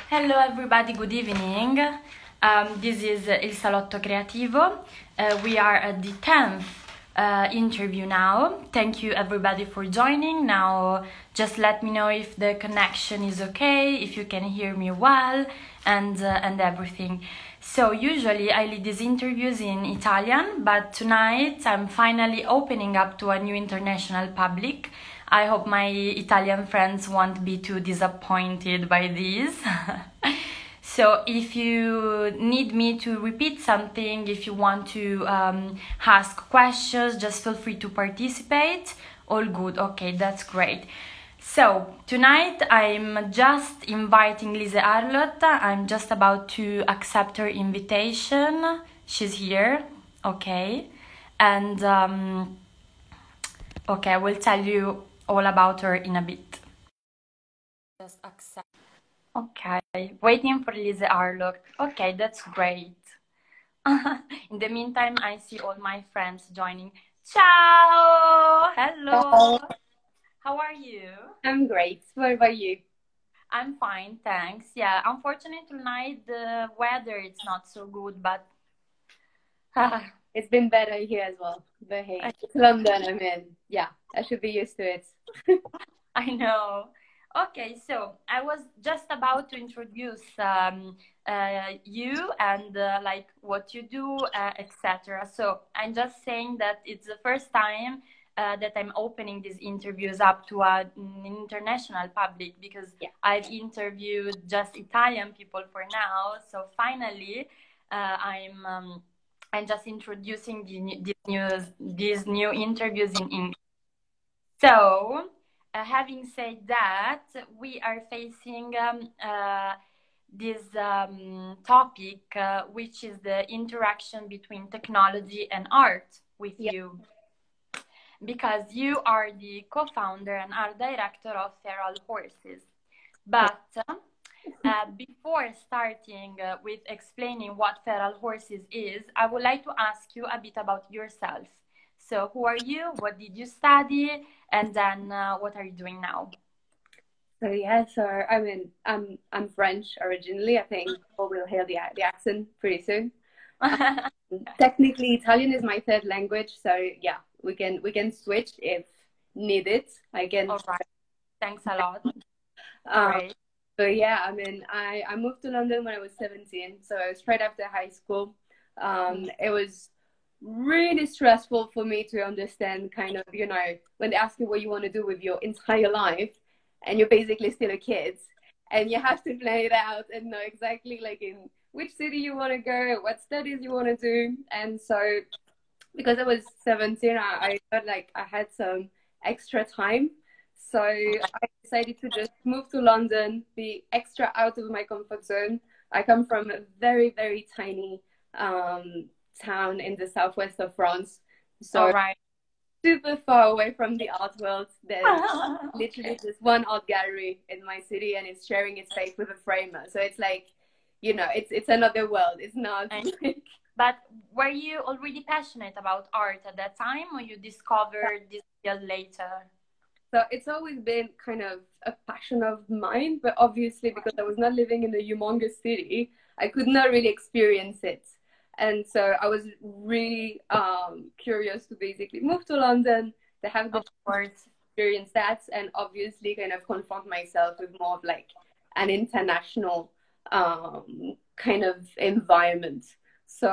Hello everybody, good evening. This is Il Salotto Creativo. We are at the 10th interview now. Thank you everybody for joining. Now just let me know if the connection is okay, if you can hear me well and everything. So usually I lead these interviews in Italian, but tonight I'm finally opening up to a new international public. I hope my Italian friends won't be too disappointed by this. So if you need me to repeat something, if you want to ask questions, just feel free to participate. All good, okay, that's great. So tonight I'm just inviting Lise Arlott. I'm just about to accept her invitation. She's here, okay. And okay, I will tell you all about her in a bit. Just accept. Okay, waiting for Lise Arlott. Okay, that's great. In the meantime, I see all my friends joining. Ciao! Hello! How are you? I'm great. What about you? I'm fine, thanks. Yeah, unfortunately tonight the weather is not so good, but It's been better here as well. But hey, it's London. I mean, yeah, I should be used to it. I know. Okay, so I was just about to introduce you and like what you do, etc. So I'm just saying that it's the first time that I'm opening these interviews up to an international public because I've interviewed just Italian people for now. So finally, I'm just introducing these new interviews in English. So, having said that, we are facing this topic, which is the interaction between technology and art with you. Because you are the co-founder and art director of Feral Horses. But before starting with explaining what Feral Horses is, I would like to ask you a bit about yourself. So who are you? What did you study? And then what are you doing now? So yeah, so I mean, I'm French originally. I think people will hear the accent pretty soon. Technically, Italian is my third language, so yeah, we can switch if needed. I can. All right. Thanks a lot. Great. So yeah, I mean, I moved to London when I was 17, so straight after high school. It was really stressful for me to understand kind of, you know, when they ask you what you want to do with your entire life and you're basically still a kid and you have to plan it out and know exactly like in which city you want to go, what studies you want to do. And so because I was 17, I felt like I had some extra time. So I decided to just move to London, be extra out of my comfort zone. I come from a very, very tiny town in the southwest of France. So super far away from the art world. There's literally just one art gallery in my city and it's sharing its space with a framer. So it's like, you know, it's another world. It's not like... But were you already passionate about art at that time or you discovered this field later? So it's always been kind of a passion of mine, but obviously because I was not living in a humongous city, I could not really experience it. And so I was really curious to basically move to London, to have the experience that, and obviously kind of confront myself with more of like an international kind of environment. So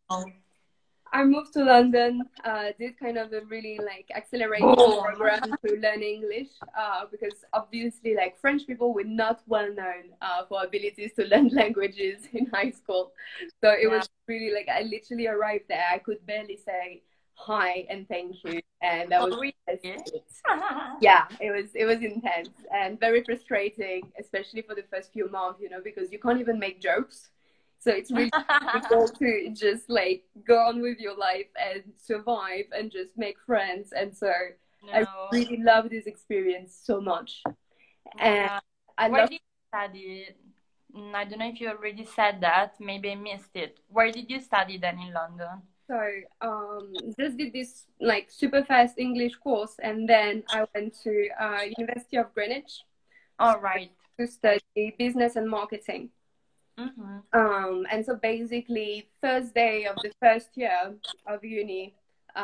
I moved to London, did kind of a really like accelerated program to learn English because obviously like French people were not well known for abilities to learn languages in high school. So it was really like I literally arrived there. I could barely say hi and thank you. And that was yeah, it was intense and very frustrating, especially for the first few months, you know, because you can't even make jokes. So it's really difficult to just like go on with your life and survive and just make friends. And so I really love this experience so much. And where did you study? I don't know if you already said that. Maybe I missed it. Where did you study then in London? So just did this like super fast English course, and then I went to University of Greenwich. All right. to study business and marketing. And so basically, first day of the first year of uni,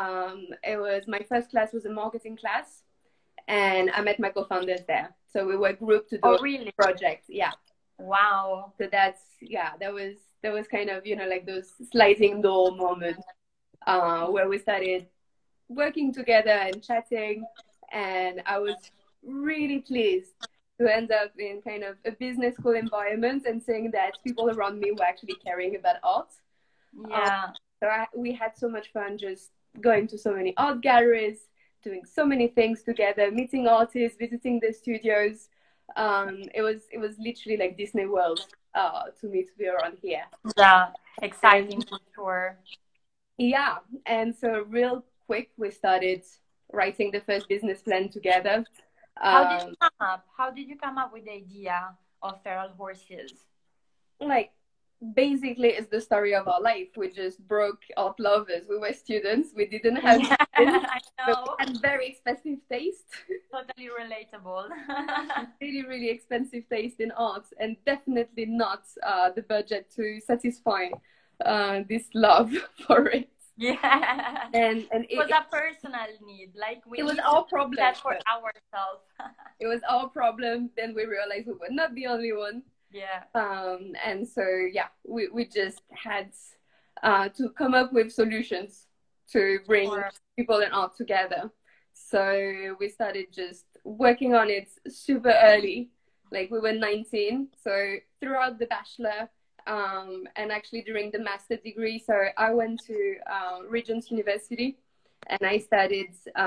my first class was a marketing class, and I met my co-founders there. So we were grouped to do a project. Yeah. Wow. So that was kind of, like those sliding door moments where we started working together and chatting, and I was really pleased to end up in kind of a business school environment and seeing that people around me were actually caring about art. Yeah. So we had so much fun just going to so many art galleries, doing so many things together, meeting artists, visiting the studios. It was literally like Disney World to me to be around here. Yeah, exciting for sure. Yeah, and so real quick we started writing the first business plan together. How did you come up? How did you come up with the idea of Feral Horses? Like, basically, it's the story of our life. We just broke art lovers. We were students. We didn't have I know. And very expensive taste. Totally relatable. Really, really expensive taste in art, and definitely not the budget to satisfy this love for it. Yeah. And it was a personal need. Like it was our problem. That for ourselves. It was our problem. Then we realized we were not the only one. Yeah. And so we just had to come up with solutions to bring people and art together. So we started just working on it super early. Like we were 19. So throughout the bachelor, and actually during the master degree, so I went to Regent's University, and I studied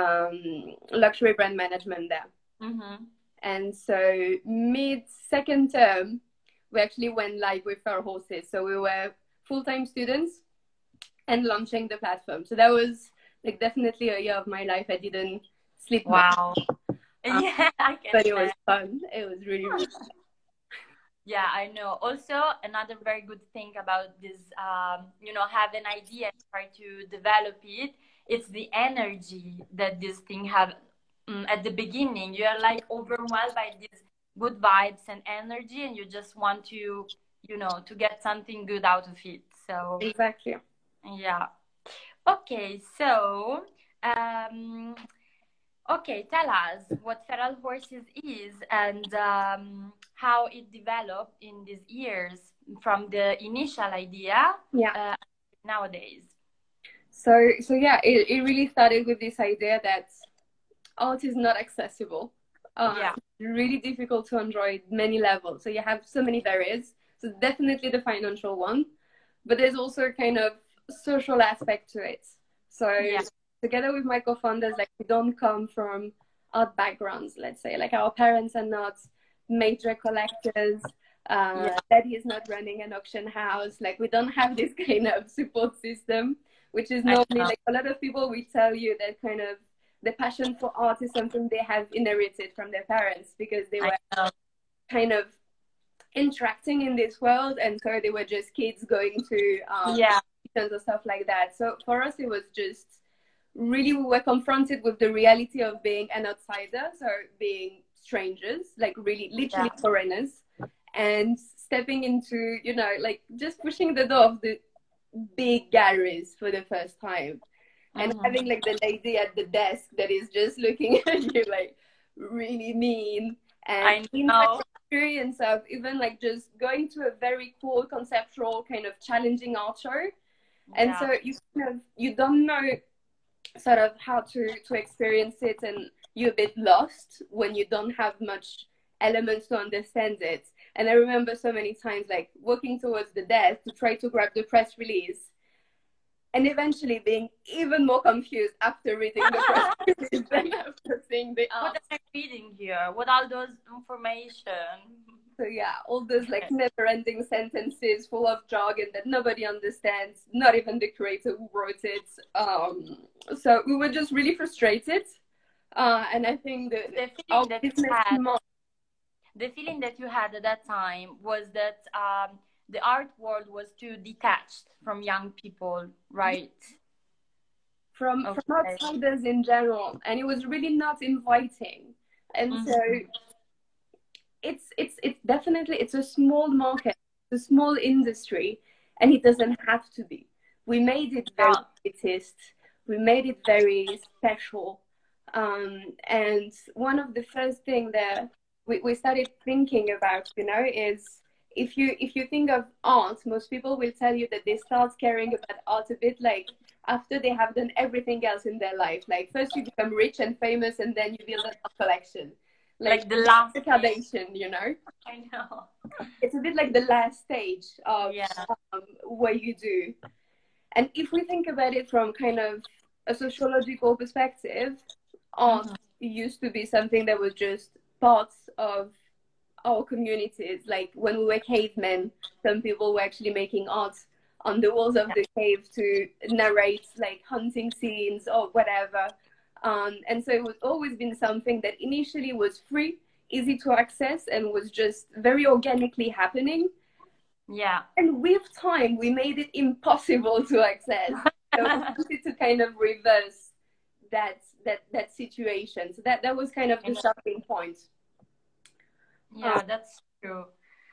luxury brand management there. And so mid-second term, we actually went live with Feral Horses. So we were full-time students and launching the platform. So that was like definitely a year of my life. I didn't sleep much. Wow. Yeah, I can. But it was fun. It was really, really fun. Yeah, I know. Also, another very good thing about this, have an idea and try to develop it. It's the energy that this thing have at the beginning. You are like overwhelmed by these good vibes and energy, and you just want to, to get something good out of it. So exactly. Yeah. Okay. So, okay, tell us what Feral Horses is and how it developed in these years from the initial idea nowadays. So yeah, it really started with this idea that art is not accessible. It's really difficult to enjoy at many levels. So you have so many barriers. So definitely the financial one, but there's also a kind of social aspect to it. So together with my co-founders, like we don't come from art backgrounds, let's say. Like our parents are not major collectors. Daddy is not running an auction house. Like we don't have this kind of support system, which is normally like a lot of people will tell you that kind of the passion for art is something they have inherited from their parents because they were kind of interacting in this world, and so they were just kids going to tons of stuff like that. So for us, it was just really we were confronted with the reality of being an outsider, so being strangers, like really literally foreigners, and stepping into, like just pushing the door of the big galleries for the first time. And having like the lady at the desk that is just looking at you like really mean. And the experience of even like just going to a very cool conceptual kind of challenging art show. And so you don't know sort of how to experience it, and you're a bit lost when you don't have much elements to understand it. And I remember so many times like walking towards the desk to try to grab the press release, and eventually being even more confused after reading the press release than after seeing the art. What am I reading here? What are those information? So all those like never-ending sentences full of jargon that nobody understands, not even the creator who wrote it. So we were just really frustrated. And I think the feeling that you had at that time was that the art world was too detached from young people, right? From outsiders in general, and it was really not inviting. And so it's definitely, it's a small market, it's a small industry, and it doesn't have to be. We made it very elitist. We made it very special. And one of the first things that we started thinking about, you know, is if you think of art, most people will tell you that they start caring about art a bit like after they have done everything else in their life. Like first you become rich and famous, and then you build an art collection. Like the last Kardashian, you know. I know. It's a bit like the last stage of what you do. And if we think about it from kind of a sociological perspective, art used to be something that was just parts of our communities. Like when we were cavemen, some people were actually making art on the walls of the cave to narrate like hunting scenes or whatever. And so it was always been something that initially was free, easy to access, and was just very organically happening. Yeah. And with time, we made it impossible to access. So we wanted to kind of reverse that situation. So that was kind of the starting point. Yeah, that's true.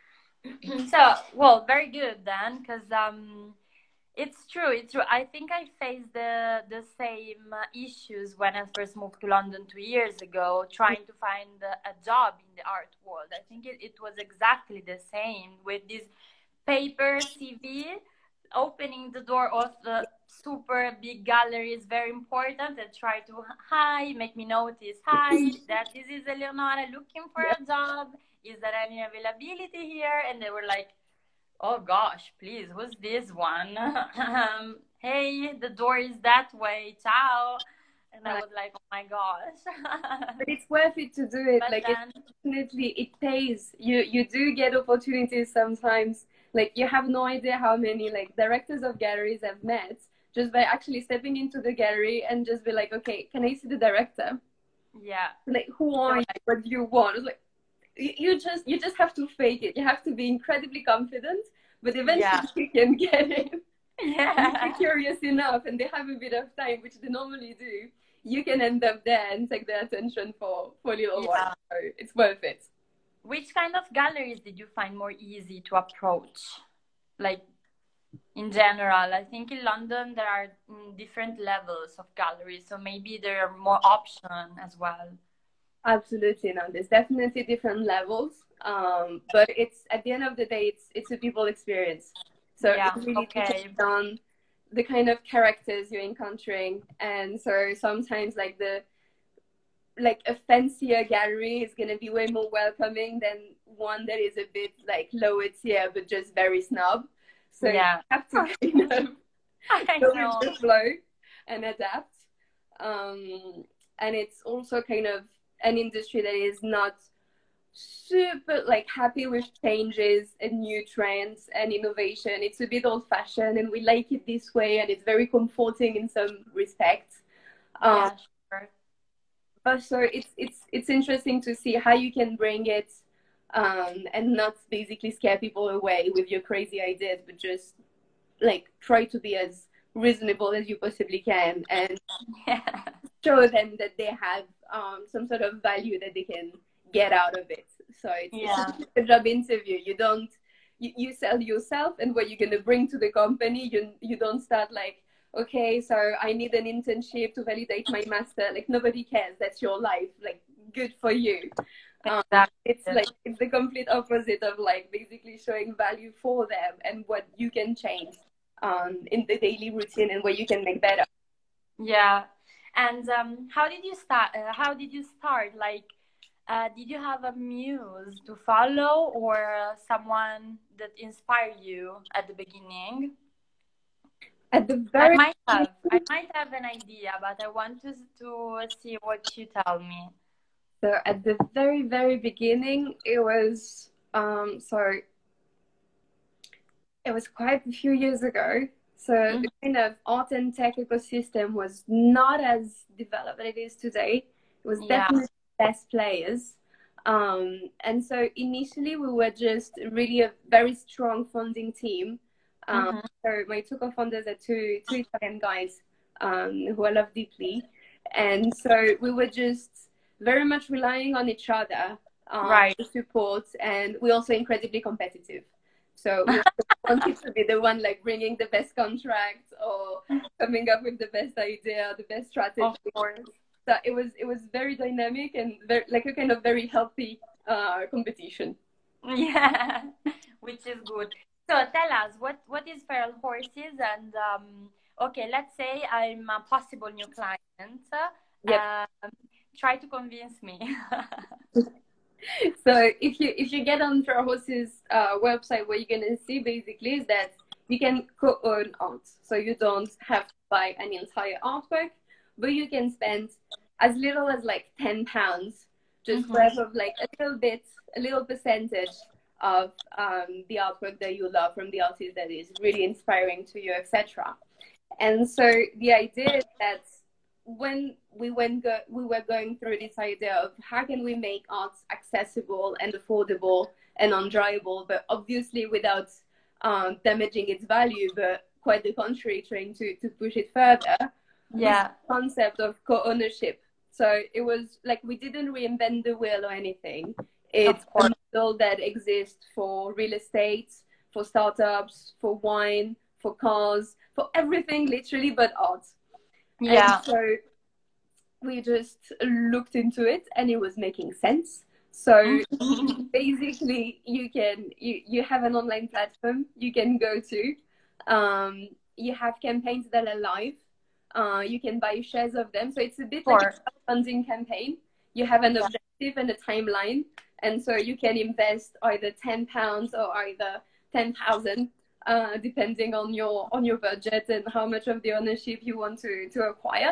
So, well, very good then, because it's true. It's true. I think I faced the same issues when I first moved to London 2 years ago, trying to find a job in the art world. I think it was exactly the same with this paper CV. Opening the door of the super big gallery is very important, and try to, hi, make me notice, hi, that this is Eleonora looking for a job. Is there any availability here? And they were like, oh gosh, please, who's this one? Hey, the door is that way, ciao. And I was like, oh my gosh. But it's worth it to do it. But like then, definitely it pays. You do get opportunities sometimes. Like you have no idea how many like directors of galleries I've met just by actually stepping into the gallery and just be like, okay, can I see the director? yeah. Like, who are you? What do you want? It's like you just have to fake it. You have to be incredibly confident, but eventually you can get it. Yeah. If you're curious enough and they have a bit of time, which they normally do, you can end up there and take their attention for a little while. So it's worth it. Which kind of galleries did you find more easy to approach? Like, in general, I think in London there are different levels of galleries, so maybe there are more options as well. Absolutely, no. There's definitely different levels, but it's at the end of the day, it's a people experience. So it really depends on the kind of characters you're encountering, and so sometimes like a fancier gallery is going to be way more welcoming than one that is a bit like lower tier but just very snob. So you have to kind of go with the flow and adapt. And it's also kind of an industry that is not super like happy with changes and new trends and innovation. It's a bit old-fashioned, and we like it this way, and it's very comforting in some respects. But so it's interesting to see how you can bring it and not basically scare people away with your crazy ideas, but just like try to be as reasonable as you possibly can and show them that they have some sort of value that they can get out of it. So it's a job interview. You sell yourself and what you're going to bring to the company. You don't start like, okay, so I need an internship to validate my master. Like nobody cares. That's your life. Like good for you. It's like it's the complete opposite of like basically showing value for them and what you can change in the daily routine and what you can make better. Yeah. And how did you start? Like, did you have a muse to follow or someone that inspired you at the beginning? At the very I might have an idea, but I want to see what you tell me. So at the very, very beginning, it was it was quite a few years ago. So the kind of art and tech ecosystem was not as developed as it is today. It was definitely less players. And so initially we were just really a very strong funding team. So my two co-founders are two Italian guys who I love deeply. And so we were just very much relying on each other Right. to support, and we're also incredibly competitive. So we wanted to be the one like bringing the best contract or coming up with the best idea, the best strategy. Of course. So it was very dynamic and very, like a kind of very healthy competition. Yeah, which is good. So tell us, what is feral horses? And okay, let's say I'm a possible new client. Yep. Try to convince me. So if you get on Feral Horses website, what you're gonna see basically is that you can co-own art. So you don't have to buy an entire artwork, but you can spend as little as like £10, just grab of like a little bit, a little percentage of the artwork that you love from the artist that is really inspiring to you, etc. And so the idea is that when we were going through this idea of how can we make art accessible and affordable and enjoyable, but obviously without damaging its value, but quite the contrary, trying to push it further. Yeah. This concept of co-ownership. So it was like we didn't reinvent the wheel or anything. It's a model that exists for real estate, for startups, for wine, for cars, for everything literally but art. Yeah. And so we just looked into it and it was making sense. So basically you have an online platform you can go to. You have campaigns that are live. You can buy shares of them. So it's a bit like a funding campaign. You have an objective and a timeline. And so you can invest either £10 or either 10,000, depending on your budget and how much of the ownership you want to acquire.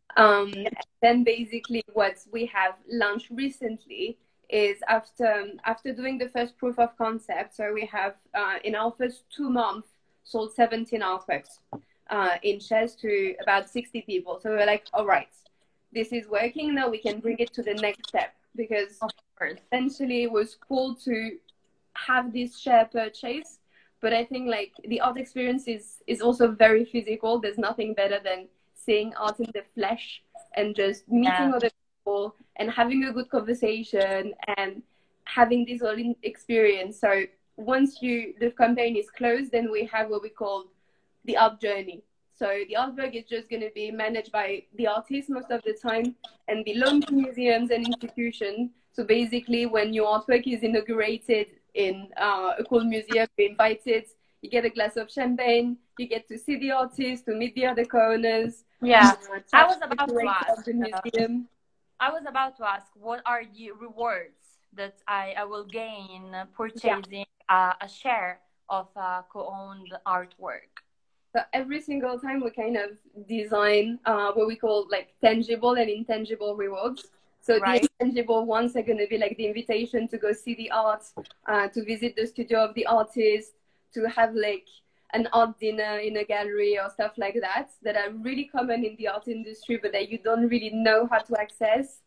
Then basically what we have launched recently is after doing the first proof of concept. So we have in our first 2 months sold 17 artworks in shares to about 60 people. So we're like, all right, this is working. Now we can bring it to the next step, because essentially it was cool to have this share purchase. But I think like the art experience is also very physical. There's nothing better than seeing art in the flesh and just meeting other people and having a good conversation and having this whole experience. So once the campaign is closed, then we have what we call the art journey. So the artwork is just going to be managed by the artist most of the time and be loaned to museums and institutions. So basically when your artwork is inaugurated in a cool museum, you're invited, you get a glass of champagne, you get to see the artist, to meet the other co-owners. Yeah, I was about to ask. The museum. I was about to ask, what are the rewards that I will gain purchasing a share of co-owned artwork? So every single time we kind of design what we call like tangible and intangible rewards. So the intangible ones are going to be like the invitation to go see the art, to visit the studio of the artist, to have like an art dinner in a gallery or stuff like that are really common in the art industry, but that you don't really know how to access.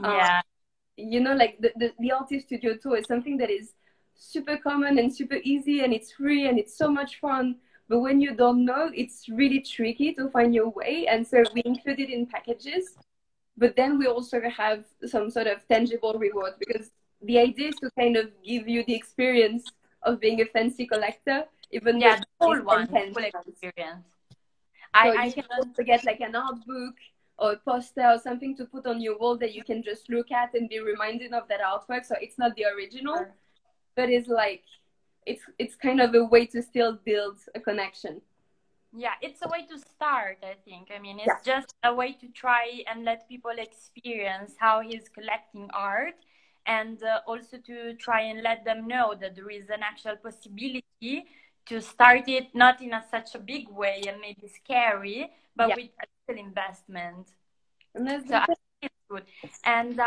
You know, like the artist studio tour is something that is super common and super easy, and it's free and it's so much fun. But when you don't know, it's really tricky to find your way. And so we include it in packages. But then we also have some sort of tangible reward, because the idea is to kind of give you the experience of being a fancy collector, even though the full experience. So you can also get like an art book or a poster or something to put on your wall that you can just look at and be reminded of that artwork. So it's not the original, but it's like it's kind of a way to still build a connection. Yeah, it's a way to start, I think. I mean, it's just a way to try and let people experience how he's collecting art, and also to try and let them know that there is an actual possibility to start it, not in such a big way and maybe scary, but with a little investment. So I think it's good. And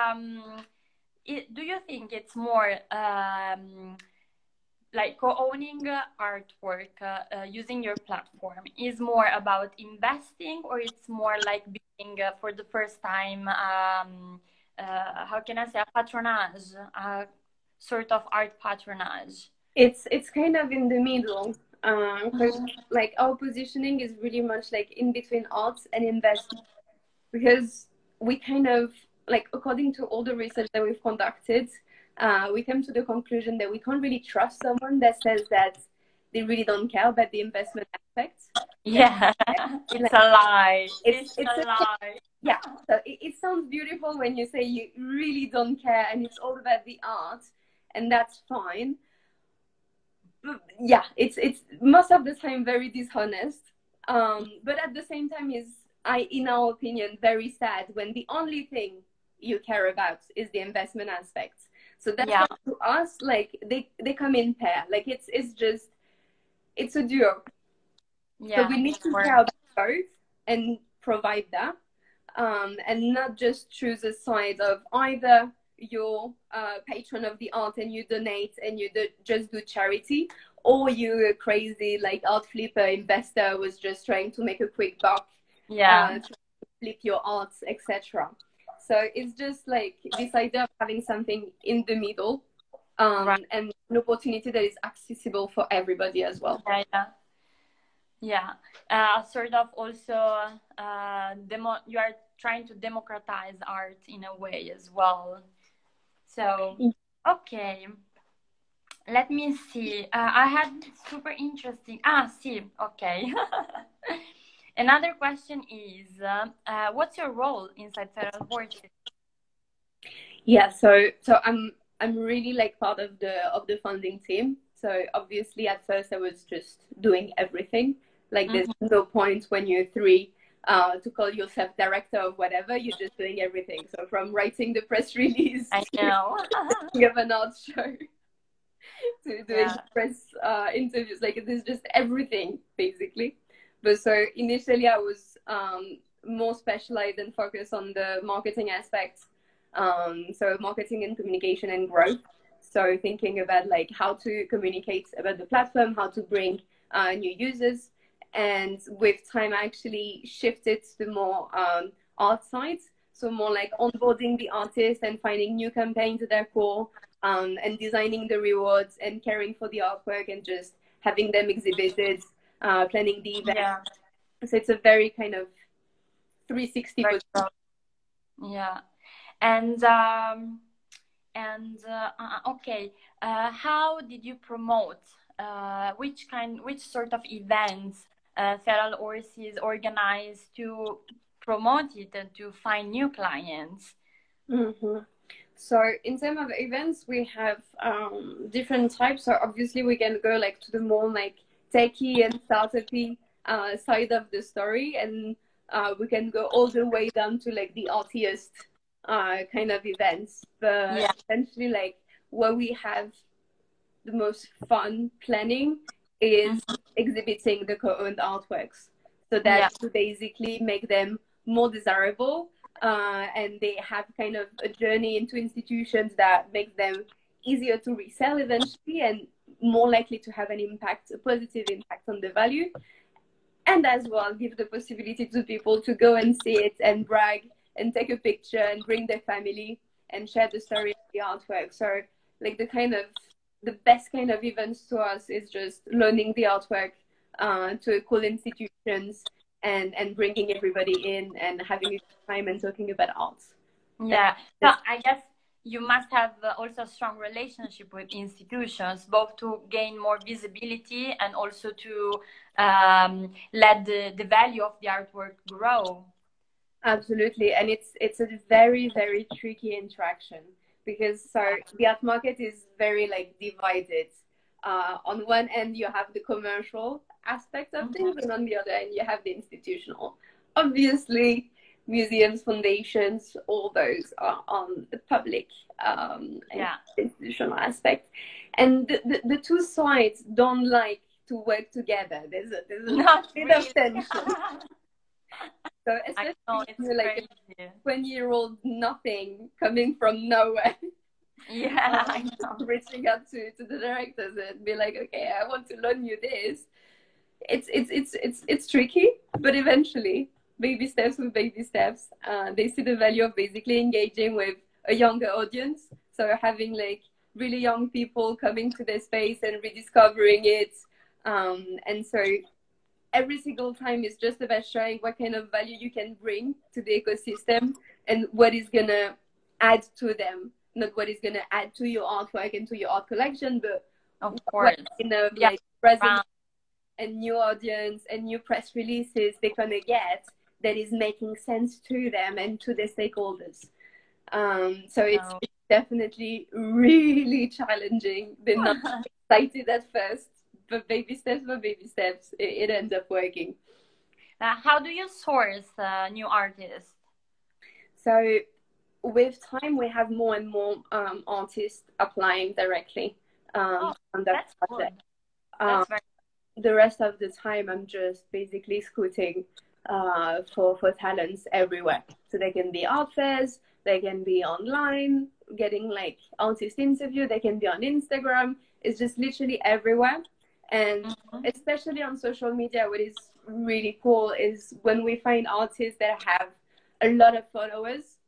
do you think it's more like co-owning artwork using your platform is more about investing, or it's more like being for the first time how can I say, a patronage, a sort of art patronage? It's kind of in the middle, because like our positioning is really much like in between art and investment, because we kind of like, according to all the research that we've conducted, we came to the conclusion that we can't really trust someone that says that they really don't care about the investment aspect. Yeah, it's a lie. It's a lie. Yeah, so it sounds beautiful when you say you really don't care and it's all about the art, and that's fine. But yeah, it's most of the time very dishonest. But at the same time, is in our opinion, very sad when the only thing you care about is the investment aspect. So that's why to us, like they come in pair. Like it's a duo. Yeah. So we need to care about both and provide that. And not just choose a side of either you're a patron of the art and you donate and you just do charity, or you're a crazy like art flipper investor was just trying to make a quick buck, to flip your art, etc. So it's just like this idea of having something in the middle, and an opportunity that is accessible for everybody as well. Yeah. Sort of also you are trying to democratize art in a way as well. So, okay. Let me see. I had super interesting. See, okay. Another question is, what's your role inside Feral Horses? Yeah, so I'm really like part of the funding team. So obviously at first I was just doing everything. Like there's no point when you're 3 to call yourself director of whatever. You're just doing everything. So from writing the press release to give an art show to doing press interviews, like there's just everything basically. But so initially I was more specialized and focused on the marketing aspects. So marketing and communication and growth. So thinking about like how to communicate about the platform, how to bring new users. And with time, I actually shifted to more art sides. So more like onboarding the artists and finding new campaigns at their core, and designing the rewards and caring for the artwork and just having them exhibited, planning the event. Yeah. So it's a very kind of 360. Yeah. And okay, how did you promote? Which sort of events Feral Horses organized to promote it and to find new clients? So in terms of events, we have different types. So obviously we can go like to the more like techie and startup-y side of the story, and we can go all the way down to like the artiest kind of events. But essentially, like where we have the most fun planning is exhibiting the co-owned artworks. So that to basically make them more desirable, and they have kind of a journey into institutions that makes them easier to resell eventually and more likely to have an impact, a positive impact on the value. And as well, give the possibility to people to go and see it and brag and take a picture and bring their family and share the story of the artwork. So like the best kind of events to us is just learning the artwork to cool institutions and bringing everybody in and having a good time and talking about art. Yeah, so I guess you must have also a strong relationship with institutions, both to gain more visibility and also to let the value of the artwork grow. Absolutely, and it's a very, very tricky interaction because the art market is very like divided. On one end you have the commercial aspect of things, and on the other end you have the institutional. Obviously museums, foundations, all those are on the public and institutional aspect, and the two sides don't like to work together. There's a bit of tension. So especially like a 20-year-old nothing coming from nowhere. Reaching out to the directors and be like, okay, I want to learn you this. It's tricky, but eventually, baby steps with baby steps, they see the value of basically engaging with a younger audience. So having like really young people coming to their space and rediscovering it, and so every single time is just about showing what kind of value you can bring to the ecosystem and what is gonna add to them, not what is going to add to your artwork and to your art collection, but Of what course. kind of Yeah. like presence and new audience and new press releases they're going to get that is making sense to them and to their stakeholders. So it's definitely really challenging. They're not excited at first, but baby steps by baby steps, it ends up working. How do you source new artists? So with time, we have more and more artists applying directly on that project. That's very the rest of the time, I'm just basically scouting for talents everywhere. So they can be art fairs, they can be online, getting like artist interview, they can be on Instagram. It's just literally everywhere. And especially on social media, what is really cool is when we find artists that have a lot of followers,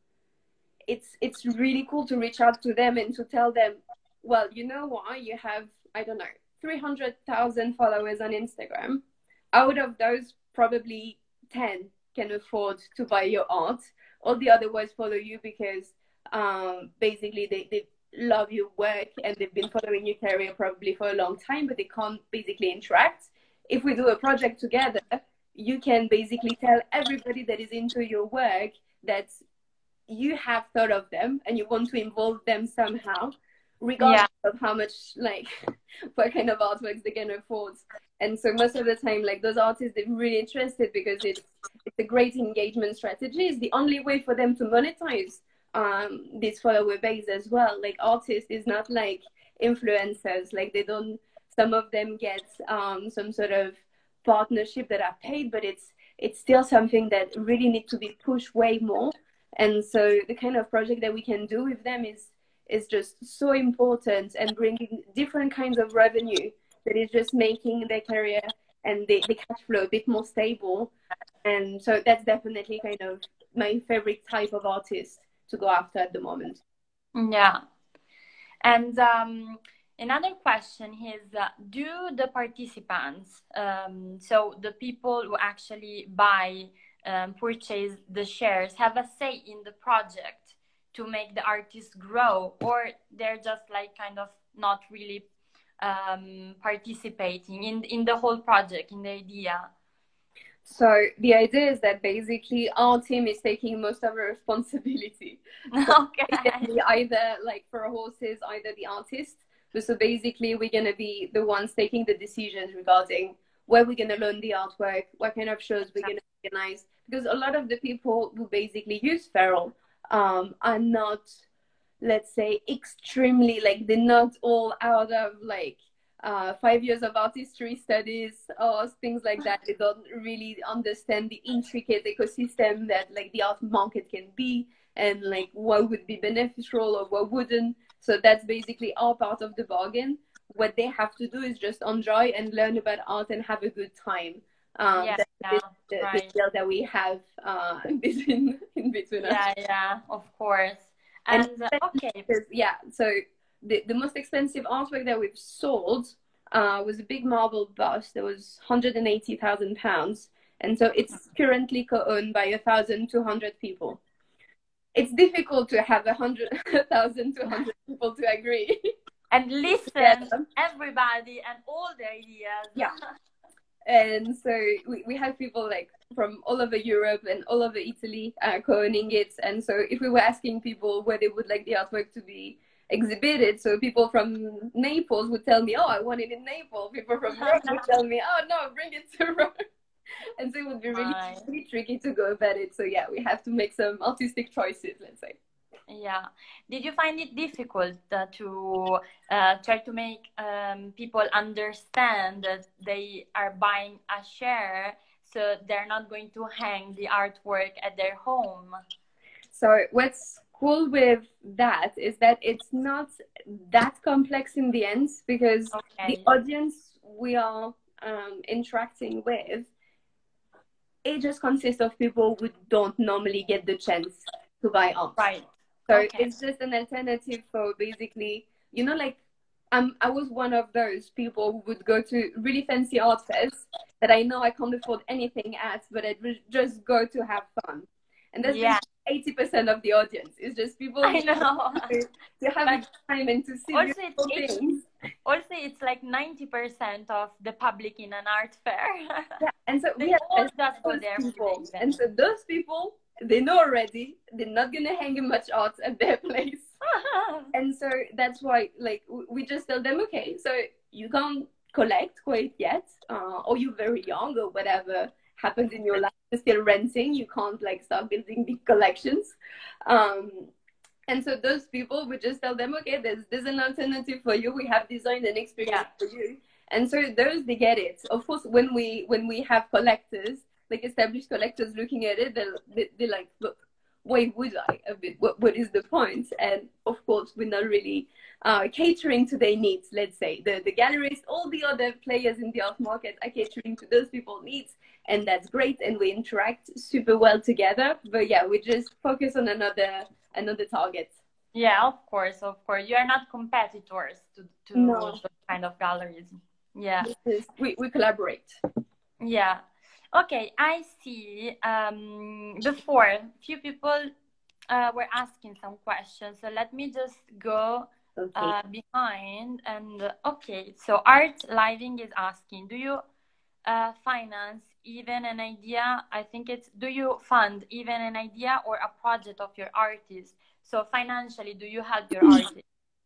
it's really cool to reach out to them and to tell them, well, you know what, you have, I don't know, 300,000 followers on Instagram. Out of those, probably 10 can afford to buy your art. All the other ones follow you because basically they love your work and they've been following your career probably for a long time, but they can't basically interact. If we do a project together, you can basically tell everybody that is into your work that you have thought of them and you want to involve them somehow, regardless of how much, like, what kind of artworks they can afford. And so most of the time, like, those artists, they're really interested because it's a great engagement strategy. It's the only way for them to monetize this follower base as well. Like, artists is not like influencers. Like, they don't, some of them get some sort of partnership that are paid, but it's still something that really needs to be pushed way more. And so the kind of project that we can do with them is just so important and bringing different kinds of revenue that is just making their career and the cash flow a bit more stable. And so that's definitely kind of my favorite type of artist to go after at the moment. Yeah. And another question is, do the participants, so the people who actually purchase the shares, have a say in the project to make the artist grow, or they're just like kind of not really participating in the whole project, in the idea? So the idea is that basically our team is taking most of the responsibility. So Okay. Either like for horses, either the artist. So basically we're going to be the ones taking the decisions regarding where we're going to learn the artwork, what kind of shows we're going to organize. Because a lot of the people who basically use Feral are not, let's say, extremely, like, they're not all out of like 5 years of art history studies or things like that. They don't really understand the intricate ecosystem that like the art market can be and like what would be beneficial or what wouldn't. So that's basically our part of the bargain. What they have to do is just enjoy and learn about art and have a good time. That's the deal that we have in between us. Yeah, of course. And okay. Yeah, so the most expensive artwork that we've sold was a big marble bust that was £180,000. And so it's currently co-owned by 1,200 people. It's difficult to have 1,200 people to agree. And listen, everybody and all the ideas. Yeah. And so we have people like from all over Europe and all over Italy co-owning it. And so if we were asking people where they would like the artwork to be exhibited, so people from Naples would tell me, oh, I want it in Naples. People from Rome would tell me, oh, no, bring it to Rome. And so it would be really tricky to go about it. So yeah, we have to make some artistic choices, let's say. Yeah. Did you find it difficult to try to make people understand that they are buying a share, so they're not going to hang the artwork at their home? So what's cool with that is that it's not that complex in the end, because the audience we are interacting with, it just consists of people who don't normally get the chance to buy art. Right. So it's just an alternative for basically, you know, like I was one of those people who would go to really fancy art fairs that I know I can't afford anything at, but I would just go to have fun. And that's 80% of the audience. It's just people I know. to have But a time and to see also beautiful it's things. also it's like 90% of the public in an art fair. Yeah, and so They we have all just go those there for people, the and event. so those people, they know already they're not gonna hang much art at their place. And so that's why, like, we just tell them, okay, so you can't collect quite yet, or you're very young, or whatever happens in your life, you're still renting, you can't like start building big collections. Um, and so those people, we just tell them, okay, there's an alternative for you. We have designed an experience for you. And so those, they get it. Of course, when we have collectors, like established collectors looking at it, they're like, look, why would I? A bit, what is the point? And of course, we're not really catering to their needs. Let's say the galleries, all the other players in the art market are catering to those people's needs, and that's great. And we interact super well together. But yeah, we just focus on another target. Yeah, of course. You are not competitors to No. those kind of galleries. Yeah. We collaborate. Yeah. Okay, I see. Before, few people were asking some questions, so let me just go behind. And okay, so Art Living is asking, do you finance even an idea? I think it's, do you fund even an idea or a project of your artist? So financially, do you help your artist?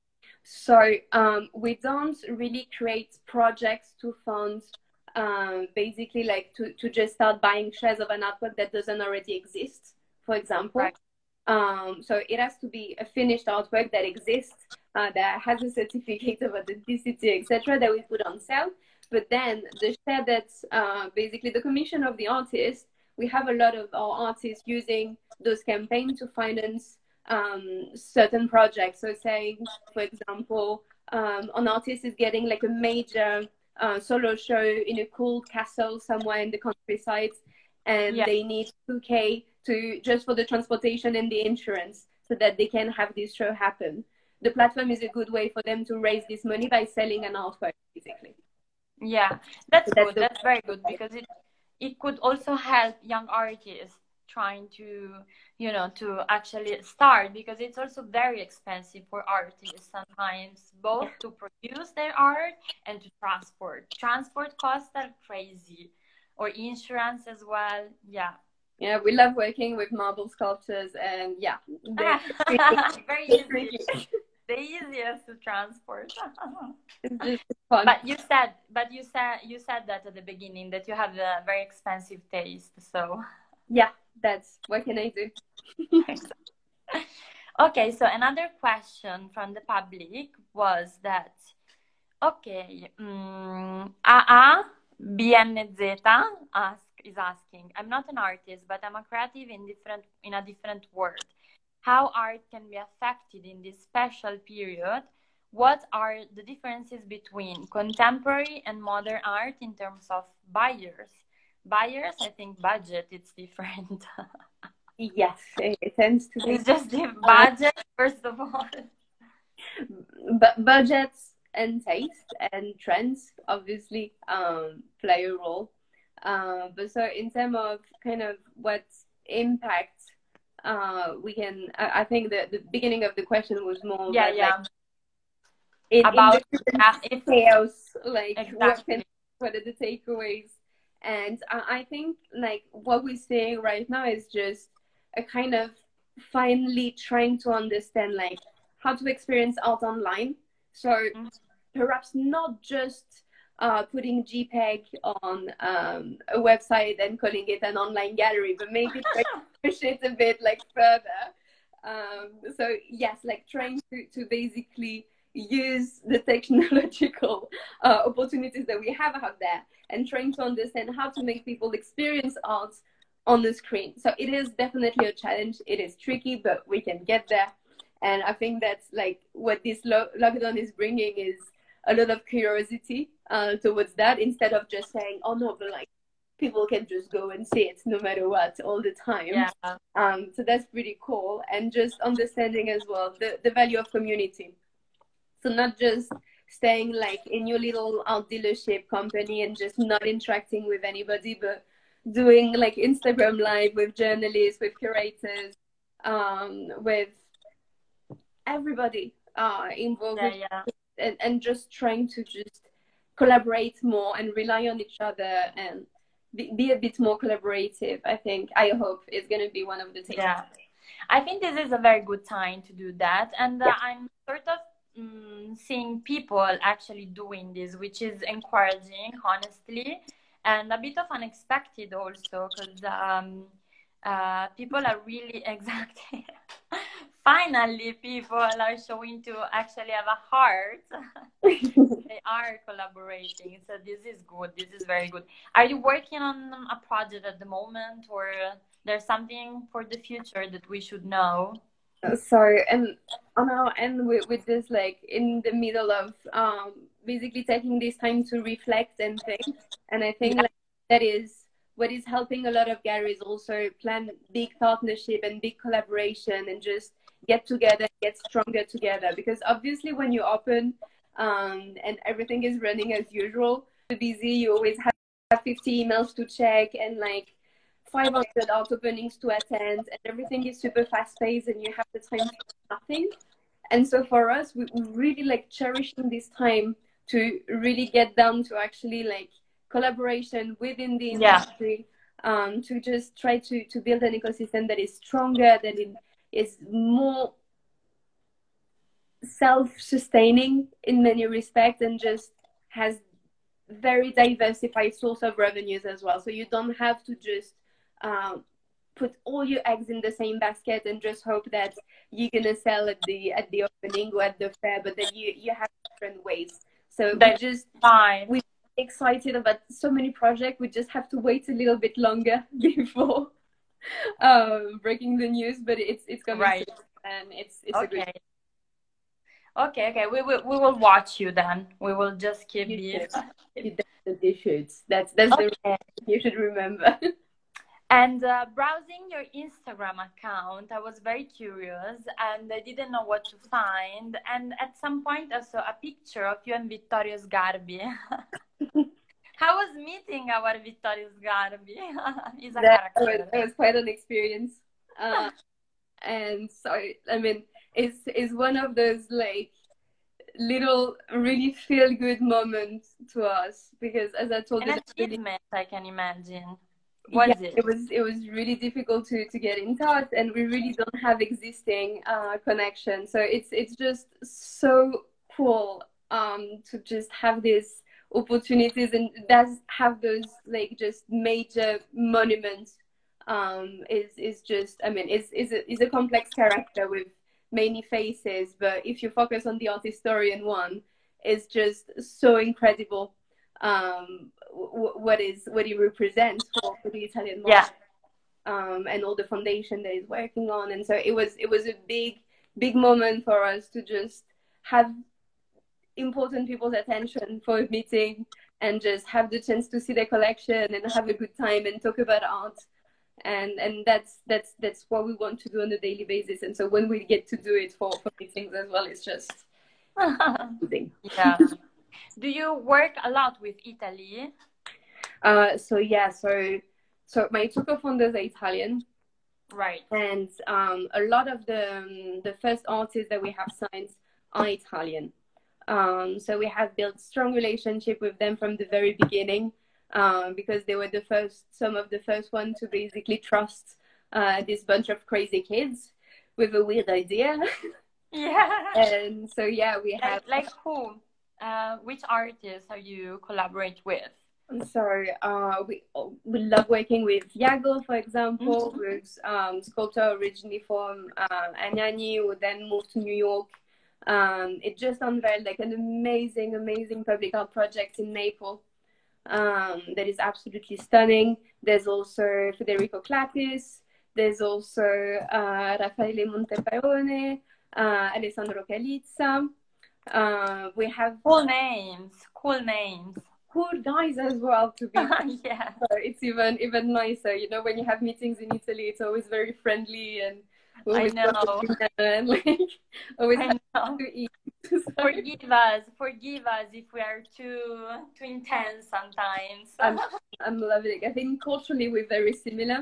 So we don't really create projects to fund, basically like to just start buying shares of an artwork that doesn't already exist, for example. Right. So it has to be a finished artwork that exists, that has a certificate of authenticity, etc., that we put on sale. But then the share that's basically the commission of the artist, we have a lot of our artists using those campaigns to finance certain projects. So saying, for example, an artist is getting like a major solo show in a cool castle somewhere in the countryside, and they need 2K to just for the transportation and the insurance so that they can have this show happen. The platform is a good way for them to raise this money by selling an artwork, basically. Yeah, that's good. That's very good, because it could also help young artists trying to, you know, to actually start, because it's also very expensive for artists sometimes, both to produce their art and to transport. Transport costs are crazy, or insurance as well. Yeah, we love working with marble sculptures, and yeah, very easy. The easiest to transport. It's just fun. But you said that at the beginning, that you have a very expensive taste. So yeah, that's what can I do. Okay, so another question from the public was that, okay, AA BNZ is asking, I'm not an artist, but I'm a creative in a different world. How art can be affected in this special period? What are the differences between contemporary and modern art in terms of buyers? Buyers, I think budget, it's different. Yes, it tends to be. It's just the budget, first of all. But budgets and taste and trends obviously play a role. But so in terms of kind of what impact we can, I think the beginning of the question was more about in chaos, like exactly. what are the takeaways? And I think like what we're seeing right now is just a kind of finally trying to understand like how to experience art online. So perhaps not just putting JPEG on a website and calling it an online gallery, but maybe push it a bit like further. So yes, like trying to basically use the technological opportunities that we have out there, and trying to understand how to make people experience art on the screen. So it is definitely a challenge. It is tricky, but we can get there. And I think that's like what this lockdown is bringing is a lot of curiosity towards that, instead of just saying, oh no, but like people can just go and see it no matter what all the time. Yeah. So that's pretty cool. And just understanding as well the value of community. So not just staying like in your little art dealership company and just not interacting with anybody, but doing like Instagram live with journalists, with curators, with everybody involved Yeah, with, yeah. and just trying to just collaborate more and rely on each other and be a bit more collaborative. I hope it's going to be one of the things. Yeah, I think this is a very good time to do that, and Yeah. I'm sort of seeing people actually doing this, which is encouraging, honestly, and a bit of unexpected also, because people are really exactly. Finally, people are showing to actually have a heart. They are collaborating, so this is good. This is very good. Are you working on a project at the moment, or there's something for the future that we should know? So, and on our end, with this, like in the middle of basically taking this time to reflect and think, and I think Yeah, like that is what is helping a lot of galleries also plan big partnership and big collaboration and just get together, get stronger together. Because obviously, when you open and everything is running as usual, you're busy, you always have 50 emails to check and like 500 art openings to attend, and everything is super fast paced, and you have the time for nothing. And so for us, we really like cherishing this time to really get down to actually like collaboration within the yeah, industry, to just try to build an ecosystem that is stronger, that is more self-sustaining in many respects, and just has very diversified source of revenues as well. So you don't have to just put all your eggs in the same basket and just hope that you're gonna sell at the opening or at the fair, but that you have different ways. So that's fine. we're excited about so many projects. We just have to wait a little bit longer before breaking the news, but it's coming Right. soon, and it's a good. Okay. Okay. We will watch you then. We will just keep You this. should. You definitely should. That's the Okay. you should remember. And browsing your Instagram account, I was very curious and I didn't know what to find. And at some point, I saw a picture of you and Vittorio Sgarbi. How was meeting our Vittorio Sgarbi? He's a character. That was quite an experience. And so, I mean, it's one of those like little really feel good moments to us, because as I told An you, achievement, I can imagine. yeah, Was it? it was really difficult to get in touch, and we really don't have existing connection. So it's just so cool to just have these opportunities, and does have those like just major monuments. Is just, I mean, is a complex character with many faces, but if you focus on the art historian one, it's just so incredible what he represents for the Italian Yeah. market, and all the foundation that he's working on. And so it was a big moment for us to just have important people's attention for a meeting and just have the chance to see their collection and have a good time and talk about art. And that's what we want to do on a daily basis. And so when we get to do it for meetings as well, it's just amazing. Yeah. Do you work a lot with Italy? So yeah, so my two co-founders are Italian, Right. and a lot of the first artists that we have signed are Italian. So we have built strong relationship with them from the very beginning, because they were some of the first ones to basically trust this bunch of crazy kids with a weird idea. Yeah. And so yeah, we have like who? Which artists are you collaborate with? So we love working with Yago, for example, who's sculptor originally from Anagni, who then moved to New York. It just unveiled like an amazing public art project in Naples that is absolutely stunning. There's also Federico Clapis. There's also Raffaele Montepaone, Alessandro Calizza. We have cool names. Cool guys as well, to be yeah. So it's even nicer, you know, when you have meetings in Italy, it's always very friendly, and we always I know. And like always I know. to eat. Forgive us if we are too intense sometimes. I'm loving it. I think culturally we're very similar.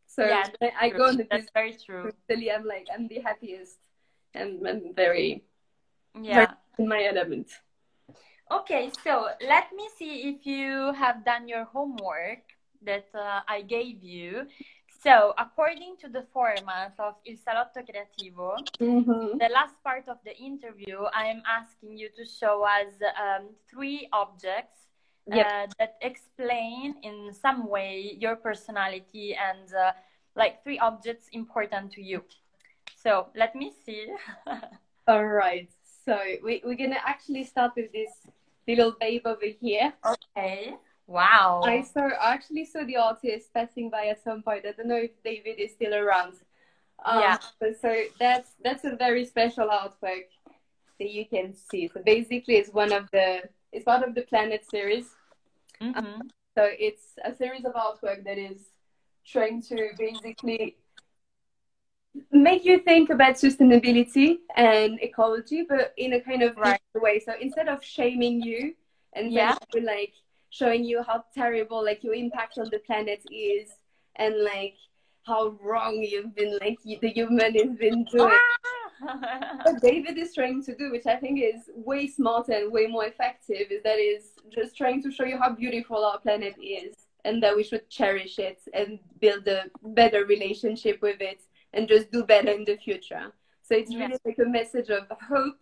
So Yeah, when I go on the that's business, very true. really, I'm the happiest, and I'm very, very Yeah. in my element. Okay, so let me see if you have done your homework that I gave you. So, according to the format of Il Salotto Creativo, the last part of the interview, I am asking you to show us three objects that explain in some way your personality and like three objects important to you. So, let me see. All right. So we're going to actually start with this little babe over here. Okay. Wow. I actually saw the artist passing by at some point. I don't know if David is still around. Yeah. So that's a very special artwork that you can see. So basically, it's part of the Planet series. Mm-hmm. So it's a series of artwork that is trying to basically make you think about sustainability and ecology, but in a kind of way. So instead of shaming you and like showing you how terrible like your impact on the planet is, and like how wrong you've been, like the human has been doing. What David is trying to do, which I think is way smarter and way more effective, is just trying to show you how beautiful our planet is, and that we should cherish it and build a better relationship with it, and just do better in the future. So it's really like a message of hope.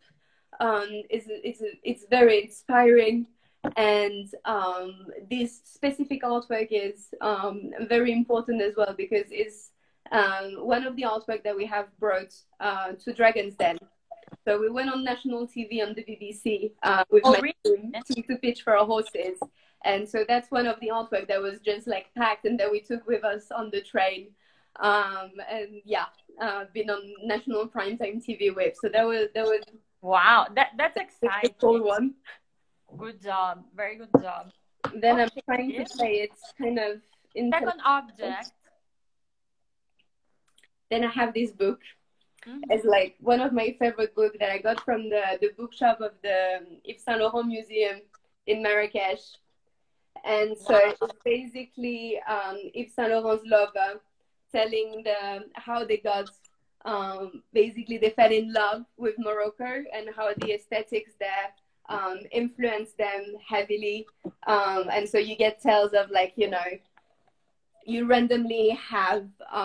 It's very inspiring, and this specific artwork is very important as well, because it's one of the artwork that we have brought to Dragon's Den. So we went on national TV on the BBC with my team to pitch for our horses. And so that's one of the artwork that was just like packed and that we took with us on the train. And yeah, been on national primetime TV with. So that was wow, that's exciting. Cool one. Good job, very good job. Then I'm trying to say it's kind of second object. Then I have this book. It's like one of my favorite books that I got from the bookshop of the Yves Saint Laurent Museum in Marrakesh. And so it's basically Yves Saint Laurent's lover telling how they got, basically they fell in love with Morocco, and how the aesthetics there influenced them heavily. And so you get tales of like, you know, you randomly have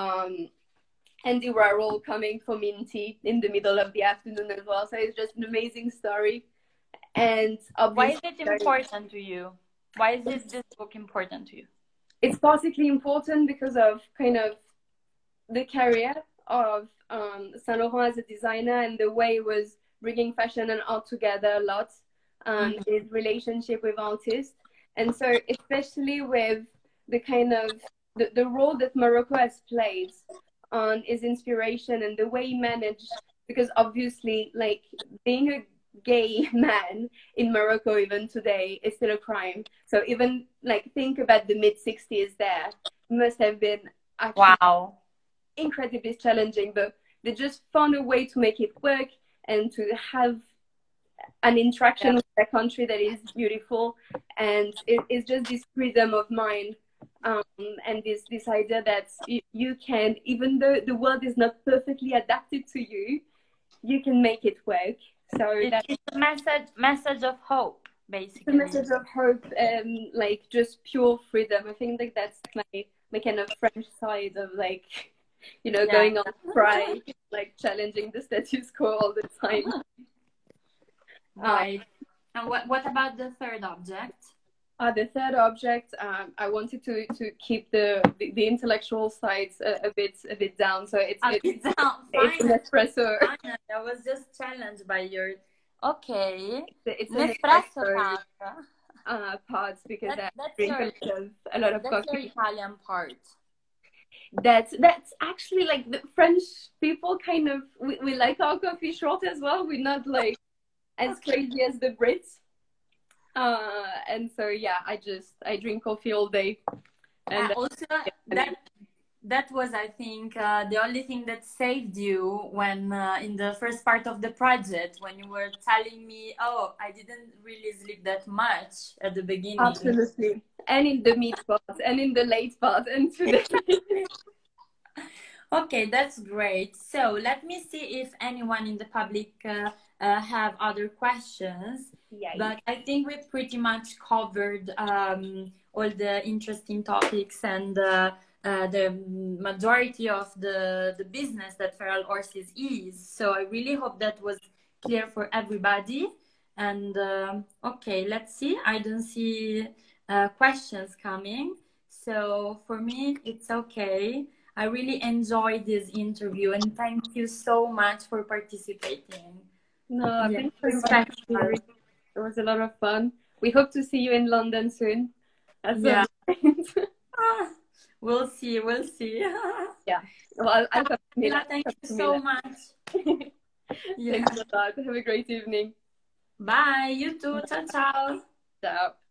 Andy Warhol coming for Minty in the middle of the afternoon as well. So it's just an amazing story. And why is it important to you? Why is this book important to you? It's particularly important because of kind of the career of Saint Laurent as a designer, and the way it was bringing fashion and art together a lot, his relationship with artists. And so especially with the kind of the role that Morocco has played on his inspiration and the way he managed, because obviously like being a gay man in Morocco even today is still a crime. So even like think about the mid-60s, there must have been actually incredibly challenging, but they just found a way to make it work and to have an interaction with a country that is beautiful. And it's just this freedom of mind, and this idea that you can, even though the world is not perfectly adapted to you, you can make it work. So it's a message of hope, basically. The message of hope and like just pure freedom. I think like that's my kind of French side of like, you know, going on pride, like challenging the status quo all the time. Right. And what about the third object? The third object, I wanted to keep the intellectual sides a bit down. So it's an espresso. I was just challenged by your. Okay. It's an espresso part, because I drink a lot of coffee. That's your Italian part. That's actually like the French people kind of we like our coffee short as well. We're not like as crazy as the Brits. And so yeah, I drink coffee all day. And also that was, I think, the only thing that saved you when in the first part of the project, when you were telling me, oh, I didn't really sleep that much at the beginning. Absolutely. And in the mid part and in the late part and today. Okay, that's great. So let me see if anyone in the public have other questions. Yay. But I think we pretty much covered all the interesting topics and the majority of the business that Feral Horses is. So I really hope that was clear for everybody. And okay, let's see. I don't see questions coming. So for me, it's okay. I really enjoyed this interview and thank you so much for participating. No, Yeah, thank you very much. special. It was a lot of fun. We hope to see you in London soon. That's Yeah. so Ah, we'll see, we'll see. yeah. Well, I'll come to Milan. Thank Come you to so Milan. much. Yeah. Thanks a lot. Have a great evening. Bye, you too. Ciao, ciao. Ciao.